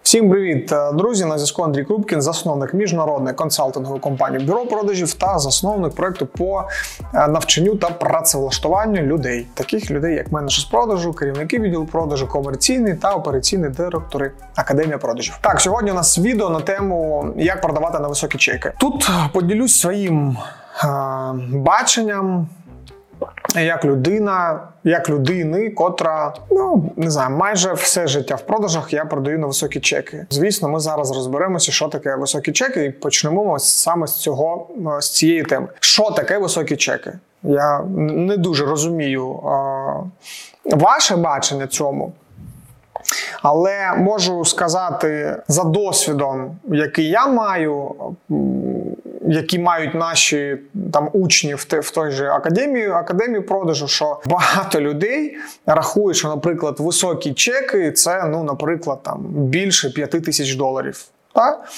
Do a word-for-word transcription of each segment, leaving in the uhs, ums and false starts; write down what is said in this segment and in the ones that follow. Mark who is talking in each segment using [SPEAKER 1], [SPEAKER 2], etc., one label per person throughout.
[SPEAKER 1] Всім привіт, друзі! На зв'язку Андрій Крупкін, засновник міжнародної консалтингової компанії Бюро продажів та засновник проєкту по навчанню та працевлаштуванню людей. Таких людей, як менеджер з продажу, керівники відділу продажу, комерційні та операційні директори Академія продажів. Так, сьогодні у нас відео на тему, як продавати на високі чеки. Тут поділюсь своїм е- баченням, як людина, як людини, котра, ну, не знаю, майже все життя в продажах я продаю на високі чеки. Звісно, ми зараз розберемося, що таке високі чеки, і почнемо саме з цього, з цієї теми. Що таке високі чеки? Я не дуже розумію а, ваше бачення цьому, але можу сказати за досвідом, який я маю, які мають наші там учні в, те, в той же академії, академії продажу, що багато людей рахують, що, наприклад, високі чеки – це, ну, наприклад, там, більше п'яти тисяч доларів. Так?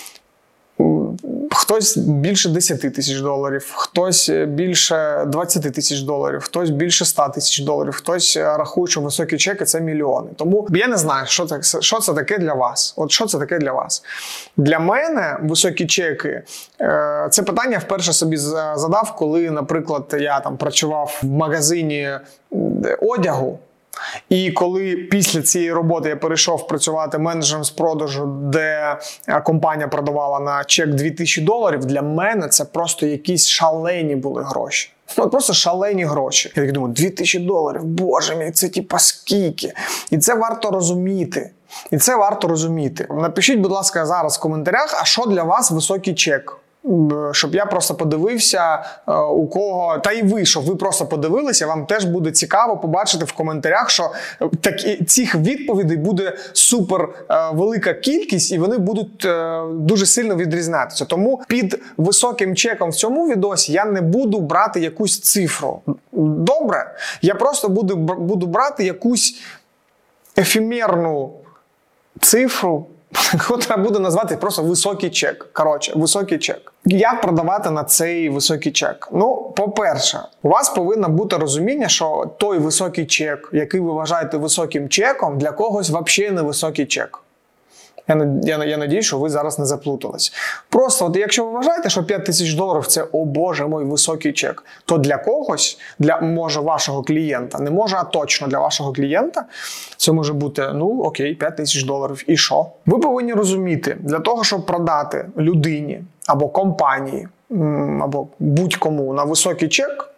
[SPEAKER 1] Хтось більше десяти тисяч доларів, хтось більше двадцяти тисяч доларів, хтось більше ста тисяч доларів, хтось рахує, що високі чеки – це мільйони. Тому я не знаю, що це, що це таке для вас. От що це таке для вас? Для мене високі чеки – це питання я вперше собі задав, коли, наприклад, я там працював в магазині одягу. І коли після цієї роботи я перейшов працювати менеджером з продажу, де компанія продавала на чек дві тисячі доларів, для мене це просто якісь шалені були гроші. Ну, просто шалені гроші. Я так думаю, дві тисячі доларів, боже мій, це типа скільки. І це варто розуміти. І це варто розуміти. Напишіть, будь ласка, зараз в коментарях, а що для вас високий чек? Щоб я просто подивився, у кого, та і ви, щоб ви просто подивилися, вам теж буде цікаво побачити в коментарях, що такі, цих відповідей буде супер велика кількість і вони будуть дуже сильно відрізнятися. Тому під високим чеком в цьому відосі я не буду брати якусь цифру. Добре? Я просто буду, буду брати якусь ефемерну цифру, котра буде назвати просто високий чек. Коротше, високий чек. Як продавати на цей високий чек? Ну, по-перше, у вас повинно бути розуміння, що той високий чек, який ви вважаєте високим чеком, для когось взагалі не високий чек. Я, я, я надію, що ви зараз не заплутались. Просто, от якщо ви вважаєте, що п'ять тисяч доларів – це, о боже мой, високий чек, то для когось, для, може, вашого клієнта, не може, а точно для вашого клієнта, це може бути, ну, окей, п'ять тисяч доларів. І що? Ви повинні розуміти, для того, щоб продати людині або компанії, або будь-кому на високий чек,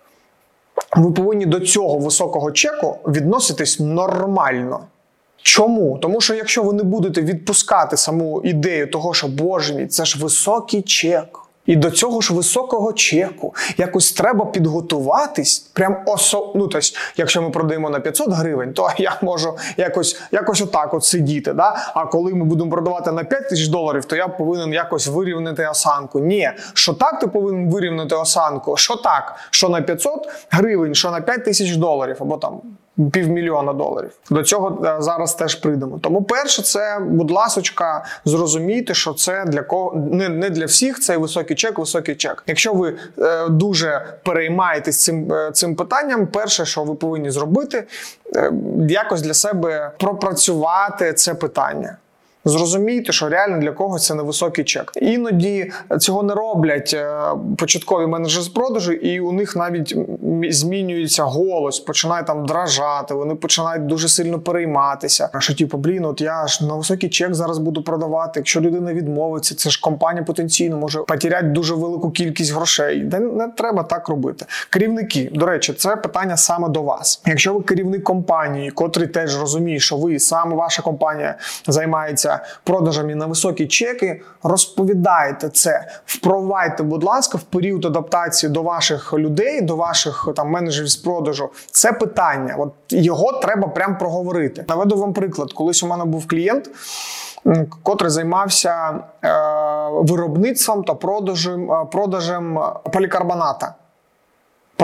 [SPEAKER 1] ви повинні до цього високого чеку відноситись нормально. Чому? Тому що якщо ви не будете відпускати саму ідею того, що, боже мій, це ж високий чек, і до цього ж високого чеку якось треба підготуватись, прям осо... ну, тобто, якщо ми продаємо на п'ятсот гривень, то я можу якось, якось отак от сидіти, да? А коли ми будемо продавати на п'ять тисяч доларів, то я повинен якось вирівняти осанку. Ні, що так ти повинен вирівняти осанку, що так, що на п'ятсот гривень, що на п'ять тисяч доларів, або там півмільйона доларів. До цього зараз теж прийдемо. Тому перше, це, будь ласочка, зрозумійте, що це для кого не, не для всіх цей високий чек, високий чек. Якщо ви е, дуже переймаєтесь цим, е, цим питанням, перше, що ви повинні зробити, е, якось для себе пропрацювати це питання. Зрозумійте, що реально для когось це невисокий чек. Іноді цього не роблять початкові менеджери з продажу, і у них навіть змінюється голос, починає там дрожати, вони починають дуже сильно перейматися. Що типу, блін, от я ж на високий чек зараз буду продавати, якщо людина відмовиться, це ж компанія потенційно може потеряти дуже велику кількість грошей. Не, не треба так робити. Керівники, до речі, це питання саме до вас. Якщо ви керівник компанії, котрий теж розуміє, що ви, саме ваша компанія займається продажами на високі чеки, розповідайте це, впровадьте, будь ласка, в період адаптації до ваших людей, до ваших там менеджерів з продажу. Це питання, от його треба прям проговорити. Наведу вам приклад. Колись у мене був клієнт, котрий займався е, виробництвом та продажем, продажем полікарбоната.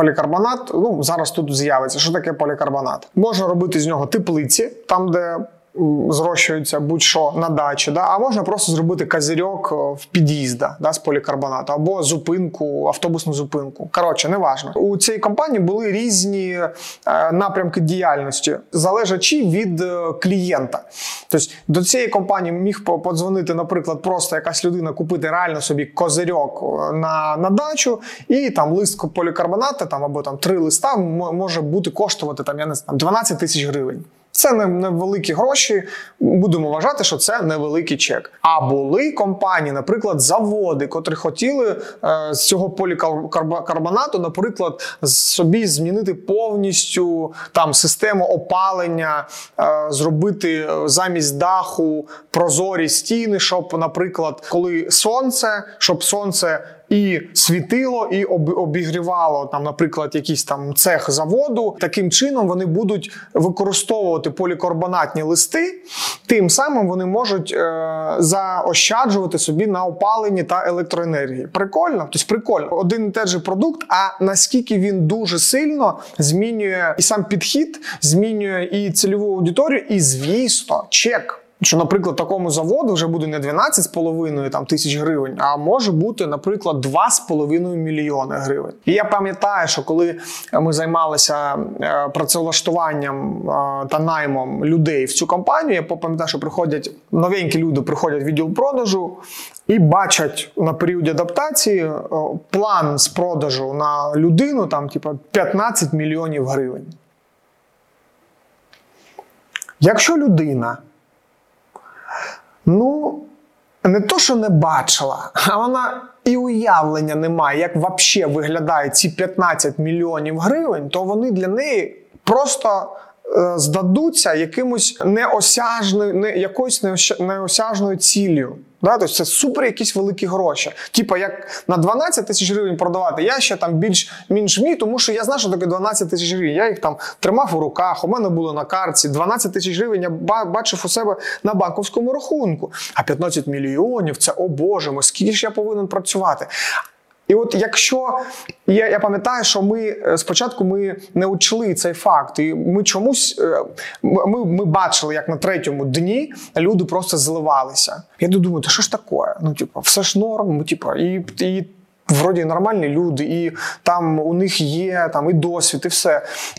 [SPEAKER 1] Полікарбонат, ну, зараз тут з'явиться. Що таке полікарбонат? Можна робити з нього теплиці, там, де зрощується будь-що на дачі, да? А можна просто зробити козирьок в під'їзді, да, з полікарбонату, або зупинку, автобусну зупинку. Коротше, неважно. У цій компанії були різні е, напрямки діяльності, залежачи від е, клієнта. Тобто до цієї компанії міг подзвонити, наприклад, просто якась людина, купити реально собі козирьок на, на дачу, і там лист полікарбонату, там, або там три листа може бути коштувати там, я не знаю, дванадцять тисяч гривень. Це невеликі гроші, будемо вважати, що це невеликий чек. А були компанії, наприклад, заводи, котрі хотіли е, з цього полікарбонату, наприклад, собі змінити повністю там систему опалення, е, зробити замість даху прозорі стіни, щоб, наприклад, коли сонце, щоб сонце і світило, і обігрівало, там, наприклад, якийсь там цех заводу. Таким чином вони будуть використовувати полікарбонатні листи, тим самим вони можуть е, заощаджувати собі на опаленні та електроенергії. Прикольно? Тобто прикольно. Один і той же продукт, а наскільки він дуже сильно змінює і сам підхід, змінює і цільову аудиторію, і, звісно, чек. Що, наприклад, такому заводу вже буде не дванадцять з половиною там, тисяч гривень, а може бути, наприклад, два з половиною мільйони гривень. І я пам'ятаю, що коли ми займалися працевлаштуванням та наймом людей в цю компанію, я пам'ятаю, що приходять новенькі люди, приходять в відділ продажу і бачать на періоді адаптації план з продажу на людину, там, типу, п'ятнадцять мільйонів гривень. Якщо людина Ну, не то, що не бачила, а вона і уявлення не має, як взагалі виглядають ці п'ятнадцять мільйонів гривень, то вони для неї просто е, здадуться якимось неосяжною, не, якоюсь неосяжною ціллю. Да? Тобто це супер якісь великі гроші. Типа, як на дванадцять тисяч гривень продавати, я ще там більш-менш вмію, тому що я знаю, що таке дванадцять тисяч гривень. Я їх там тримав у руках, у мене було на картці. дванадцять тисяч гривень я бачив у себе на банківському рахунку. А п'ятнадцять мільйонів – це, о боже мой, скільки ж я повинен працювати? І от якщо, я, я пам'ятаю, що ми спочатку ми не учли цей факт, і ми чомусь, ми, ми бачили, як на третьому дні люди просто зливалися. Я думаю, та що ж таке? Ну, типу, все ж норм, типу, і, і вроді нормальні люди, і там у них є там і досвід, і все.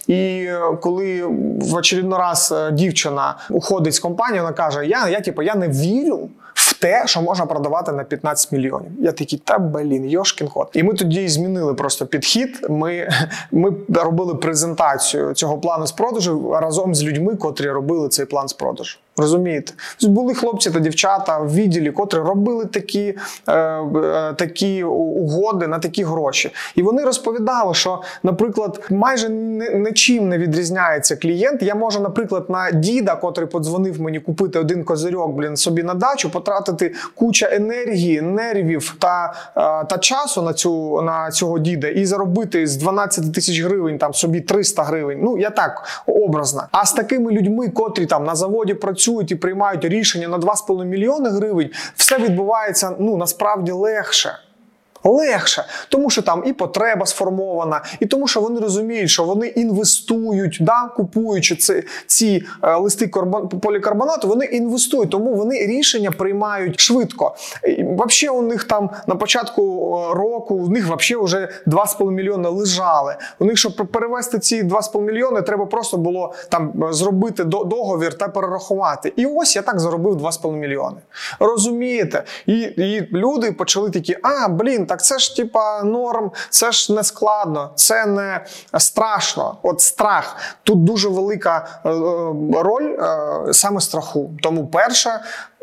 [SPEAKER 1] І коли в очередний раз дівчина уходить з компанії, вона каже, я, я, типу, я не вірю в те, що можна продавати на п'ятнадцять мільйонів. Я такий, та блін, йошкін кот. І ми тоді змінили просто підхід. Ми, ми робили презентацію цього плану з продажу разом з людьми, котрі робили цей план з продажу. Розумієте? Були хлопці та дівчата в відділі, котрі робили такі, е, е, такі угоди на такі гроші. І вони розповідали, що, наприклад, майже нічим не відрізняється клієнт. Я можу, наприклад, на діда, котрий подзвонив мені купити один козирьок, блін, собі на дачу, потратити куча енергії, нервів та, е, та часу на, цю, на цього діда і заробити з дванадцять тисяч гривень там, собі триста гривень. Ну, я так, образно. А з такими людьми, котрі там на заводі працюють, і приймають рішення на два з половиною мільйони гривень, все відбувається, ну, насправді легше. Легше. Тому що там і потреба сформована, і тому що вони розуміють, що вони інвестують, да, купуючи ці, ці е, листи полікарбонату, вони інвестують, тому вони рішення приймають швидко. І, взагалі у них там на початку року, у них взагалі вже два з половиною мільйони лежали. У них, щоб перевести ці два з половиною мільйони, треба просто було там зробити договір та перерахувати. І ось я так заробив два з половиною мільйони. Розумієте? І, і люди почали такі, а, блін, так це ж типа норм, це ж не складно, це не страшно. От страх. Тут дуже велика е, роль е, саме страху. Тому перше,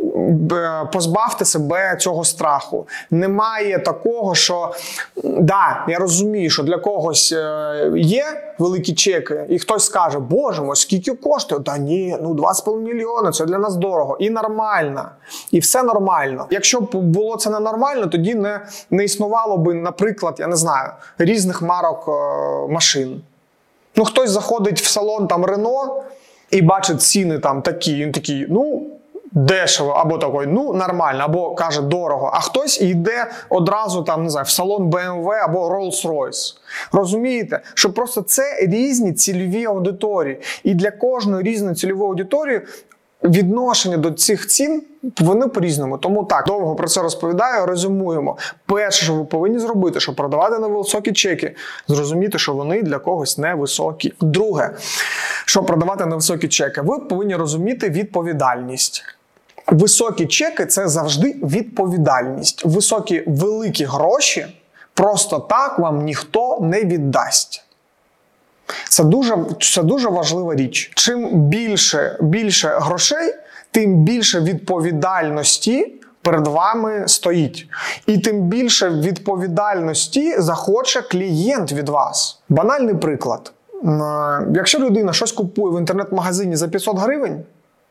[SPEAKER 1] позбавте себе цього страху. Немає такого, що, да, я розумію, що для когось є великі чеки, і хтось скаже, боже мой, скільки коштує? Та ні, ну два з половиною мільйони, це для нас дорого. І нормально. І все нормально. Якщо б було це ненормально, тоді не, не існувало би, наприклад, я не знаю, різних марок е, машин. Ну, хтось заходить в салон там Рено і бачить ціни там такі, він такий, ну, дешево, або такий, ну, нормально, або каже, дорого. А хтось йде одразу там, не знаю, в салон Бе Ем Ве або Rolls-Royce. Розумієте? Що просто це різні цільові аудиторії. І для кожної різної цільової аудиторії відношення до цих цін, вони по-різному. Тому так, довго про це розповідаю, резюмуємо. Перше, що ви повинні зробити, щоб продавати на високі чеки, зрозуміти, що вони для когось невисокі. Друге, щоб продавати на високі чеки, ви повинні розуміти відповідальність. Високі чеки – це завжди відповідальність. Високі, великі гроші просто так вам ніхто не віддасть. Це дуже, це дуже важлива річ. Чим більше, більше грошей, тим більше відповідальності перед вами стоїть. І тим більше відповідальності захоче клієнт від вас. Банальний приклад. Якщо людина щось купує в інтернет-магазині за п'ятсот гривень,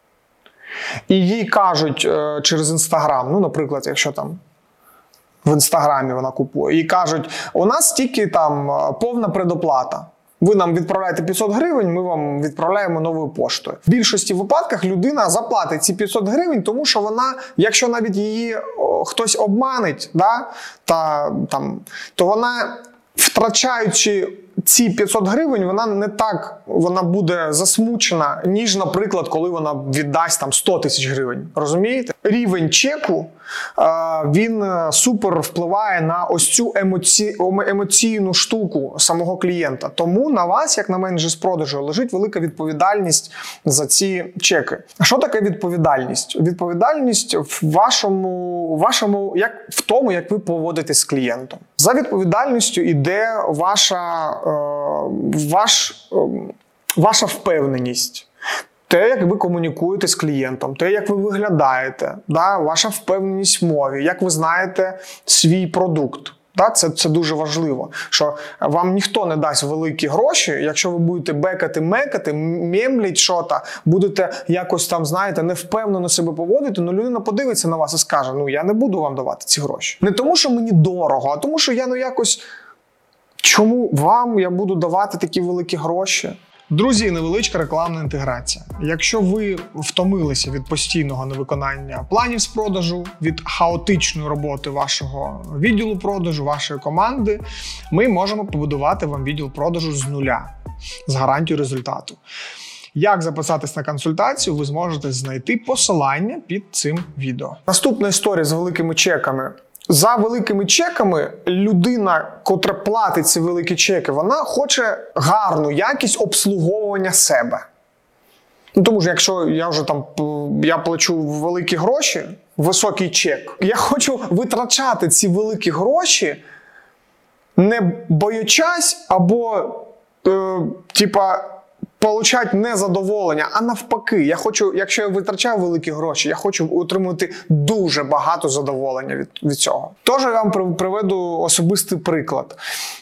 [SPEAKER 1] і їй кажуть е, через Інстаграм, ну, наприклад, якщо там в Інстаграмі вона купує, і кажуть, у нас тільки там повна предоплата. Ви нам відправляєте п'ятсот гривень, ми вам відправляємо новою поштою. В більшості випадках людина заплатить ці п'ятсот гривень, тому що вона, якщо навіть її о, хтось обманить, да, та, там, то вона, втрачаючи ці п'ятсот гривень, вона не так, вона буде засмучена, ніж, наприклад, коли вона віддасть там сто тисяч гривень. Розумієте? Рівень чеку, він супер впливає на ось цю емоці... емоційну штуку самого клієнта. Тому на вас, як на менеджер з продажу, лежить велика відповідальність за ці чеки. А що таке відповідальність? Відповідальність в вашому, вашому як, в тому, як ви поводитесь з клієнтом. За відповідальністю йде ваша, е, ваш, е, ваша впевненість. Те, як ви комунікуєте з клієнтом, те, як ви виглядаєте, да, ваша впевненість в мові, як ви знаєте свій продукт. Да, це, це дуже важливо, що вам ніхто не дасть великі гроші, якщо ви будете бекати-мекати, мемліть що-то, будете якось там, знаєте, невпевнено себе поводити, ну людина подивиться на вас і скаже, ну я не буду вам давати ці гроші. Не тому, що мені дорого, а тому, що я ну якось, чому вам я буду давати такі великі гроші? Друзі, невеличка рекламна інтеграція. Якщо ви втомилися від постійного невиконання планів з продажу, від хаотичної роботи вашого відділу продажу, вашої команди, ми можемо побудувати вам відділ продажу з нуля, з гарантією результату. Як записатись на консультацію, ви зможете знайти посилання під цим відео. Наступна історія з великими чеками. За великими чеками людина, котра платить ці великі чеки, вона хоче гарну якість обслуговування себе. Ну, тому що якщо я вже там я плачу великі гроші, високий чек, я хочу витрачати ці великі гроші, не боячись або е, типа получати незадоволення, а навпаки, я хочу, якщо я витрачаю великі гроші, я хочу отримувати дуже багато задоволення від, від цього. Тож я вам приведу особистий приклад.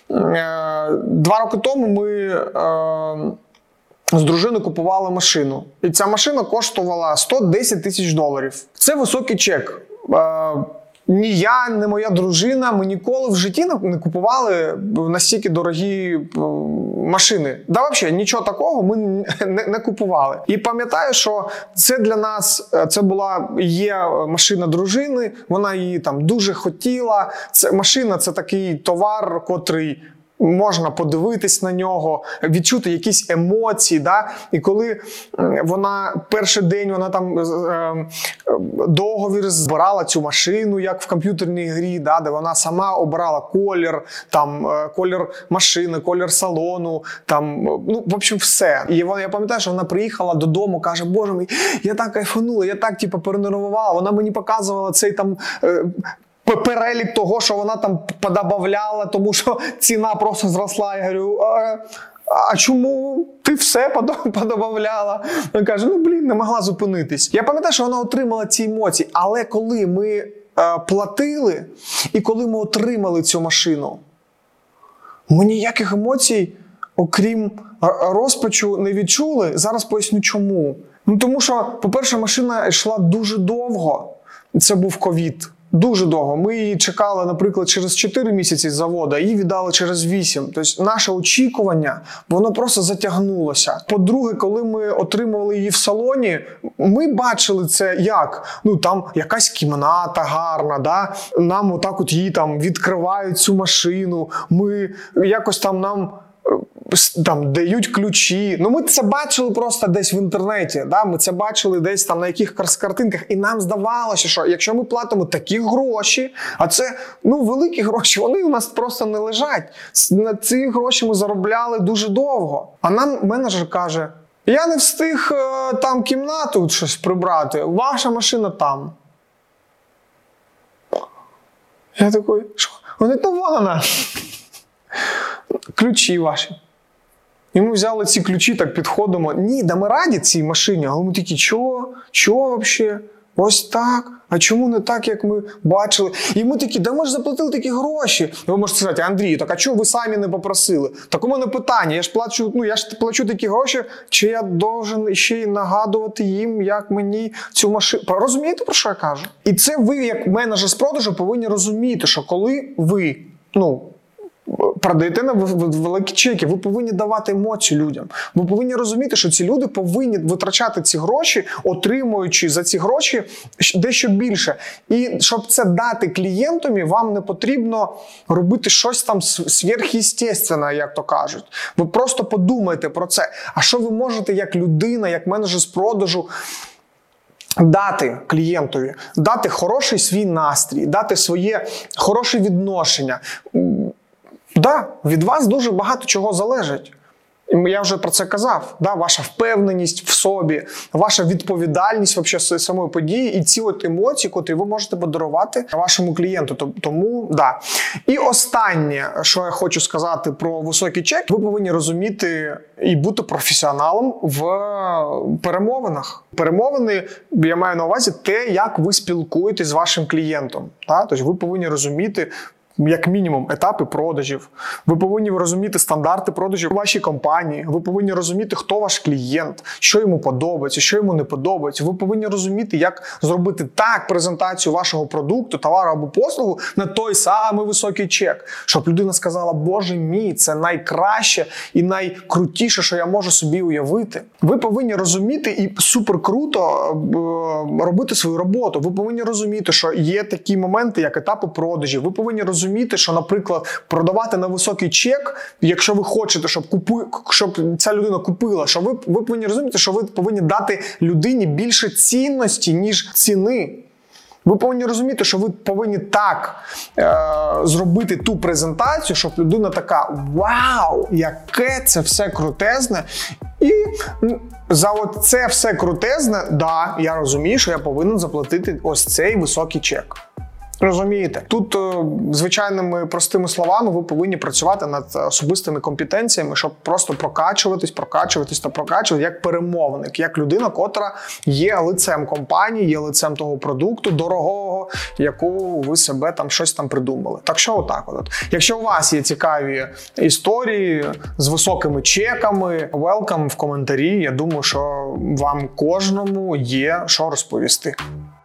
[SPEAKER 1] Два роки тому ми е, з дружиною купували машину. І ця машина коштувала сто десять тисяч доларів. Це високий чек. Е, Ні я, ні моя дружина, ми ніколи в житті не купували настільки дорогі машини. Да, взагалі, нічого такого ми не, не купували. І пам'ятаю, що це для нас, це була, є машина дружини, вона її там дуже хотіла. Це, машина – це такий товар, котрий можна подивитись на нього, відчути якісь емоції, да? І коли вона перший день вона там е, договір збирала цю машину, як в комп'ютерній грі, да? Де вона сама обирала колір, там е, колір машини, колір салону, там, ну, в общем, все. І вона, я пам'ятаю, що вона приїхала додому, каже, боже мій, я так кайфанула, я так типу перенервувала, вона мені показувала цей там е, перелік того, що вона там подобавляла, тому що ціна просто зросла. Я говорю, а, а чому ти все подобавляла? Вона каже, ну блін, не могла зупинитись. Я пам'ятаю, що вона отримала ці емоції, але коли ми е, платили і коли ми отримали цю машину, ми ніяких емоцій, окрім розпачу, не відчули. Зараз поясню чому. Ну тому що, по-перше, машина йшла дуже довго. Це був ковід. Дуже довго. Ми її чекали, наприклад, через чотири місяці з заводу, а її віддали через вісім. Тобто наше очікування, воно просто затягнулося. По-друге, коли ми отримували її в салоні, ми бачили це як? Ну, там якась кімната гарна, да? Нам отак от її там відкривають цю машину, ми якось там нам там дають ключі. Ну ми це бачили просто десь в інтернеті, да? Ми це бачили десь там на якихось картинках, і нам здавалося, що якщо ми платимо такі гроші, а це ну великі гроші, вони у нас просто не лежать. На ці гроші ми заробляли дуже довго. А нам менеджер каже: я не встиг е, там кімнату щось прибрати, ваша машина там. Я такий, що? Вони то вона. Ключі ваші. І ми взяли ці ключі, так підходимо. Ні, да ми раді цій машині. Але ми такі, чого? Чого взагалі? Ось так? А чому не так, як ми бачили? І ми такі, да ми ж заплатили такі гроші. І ви можете сказати: Андрій, так а чого ви самі не попросили? Так у мене питання, я ж плачу, ну я ж плачу такі гроші, чи я должен ще й нагадувати їм, як мені цю машину... Розумієте, про що я кажу? І це ви, як менеджер з продажу, повинні розуміти, що коли ви, ну, продаєте на великі чеки, ви повинні давати емоції людям. Ви повинні розуміти, що ці люди повинні витрачати ці гроші, отримуючи за ці гроші дещо більше. І щоб це дати клієнтові, вам не потрібно робити щось там сверхъестественне, як то кажуть. Ви просто подумайте про це. А що ви можете як людина, як менеджер з продажу дати клієнтові? Дати хороший свій настрій, дати своє хороше відношення. Да, від вас дуже багато чого залежить. Я вже про це казав. Да, ваша впевненість в собі, ваша відповідальність вообще самої події і ці от емоції, котрі ви можете подарувати вашому клієнту. Тому, да. І останнє, що я хочу сказати про високий чек, ви повинні розуміти і бути професіоналом в перемовинах. Перемовини, я маю на увазі те, як ви спілкуєтесь з вашим клієнтом. Да? Тобто ви повинні розуміти, як мінімум, етапи продажів. Ви повинні розуміти стандарти продажів у вашій компанії. Ви повинні розуміти, хто ваш клієнт, що йому подобається, що йому не подобається. Ви повинні розуміти, як зробити так презентацію вашого продукту, товару або послугу на той самий високий чек, щоб людина сказала: Боже мій, це найкраще і найкрутіше, що я можу собі уявити. Ви повинні розуміти і супер круто робити свою роботу. Ви повинні розуміти, що є такі моменти, як етапи продажів. Ви повинні розуміти, що, наприклад, продавати на високий чек, якщо ви хочете, щоб, купи, щоб ця людина купила, що ви, ви повинні розуміти, що ви повинні дати людині більше цінності, ніж ціни. Ви повинні розуміти, що ви повинні так е, зробити ту презентацію, щоб людина така: вау, яке це все крутезне. І за це все крутезне, да, я розумію, що я повинен заплатити ось цей високий чек. Розумієте? Тут звичайними простими словами ви повинні працювати над особистими компетенціями, щоб просто прокачуватись, прокачуватись та прокачувати як перемовник, як людина, котра є лицем компанії, є лицем того продукту дорогого, яку ви себе там щось там придумали. Так що отак от. Якщо у вас є цікаві історії з високими чеками, welcome в коментарі. Я думаю, що вам кожному є що розповісти.